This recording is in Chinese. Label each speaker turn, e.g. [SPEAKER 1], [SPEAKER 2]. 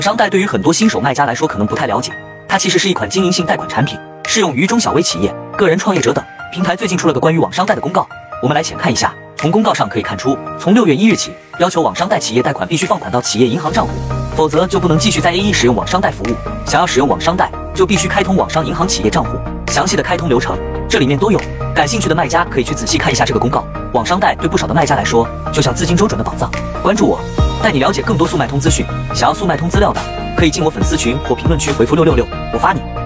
[SPEAKER 1] 商贷对于很多新手卖家来说可能不太了解，它其实是一款经营性贷款产品，适用于中小微企业、个人创业者等。平台最近出了个关于网商贷的公告，我们来浅看一下。从公告上可以看出，从6月1日起，要求网商贷企业贷款必须放款到企业银行账户，否则就不能继续在 A1 使用网商贷服务。想要使用网商贷，就必须开通网商银行企业账户，详细的开通流程这里面都有。感兴趣的卖家可以去仔细看一下这个公告。网商贷对不少的卖家来说，就像资金周转的宝藏。关注我，带你了解更多速卖通资讯。想要速卖通资料的，可以进我粉丝群或评论区回复666，我发你。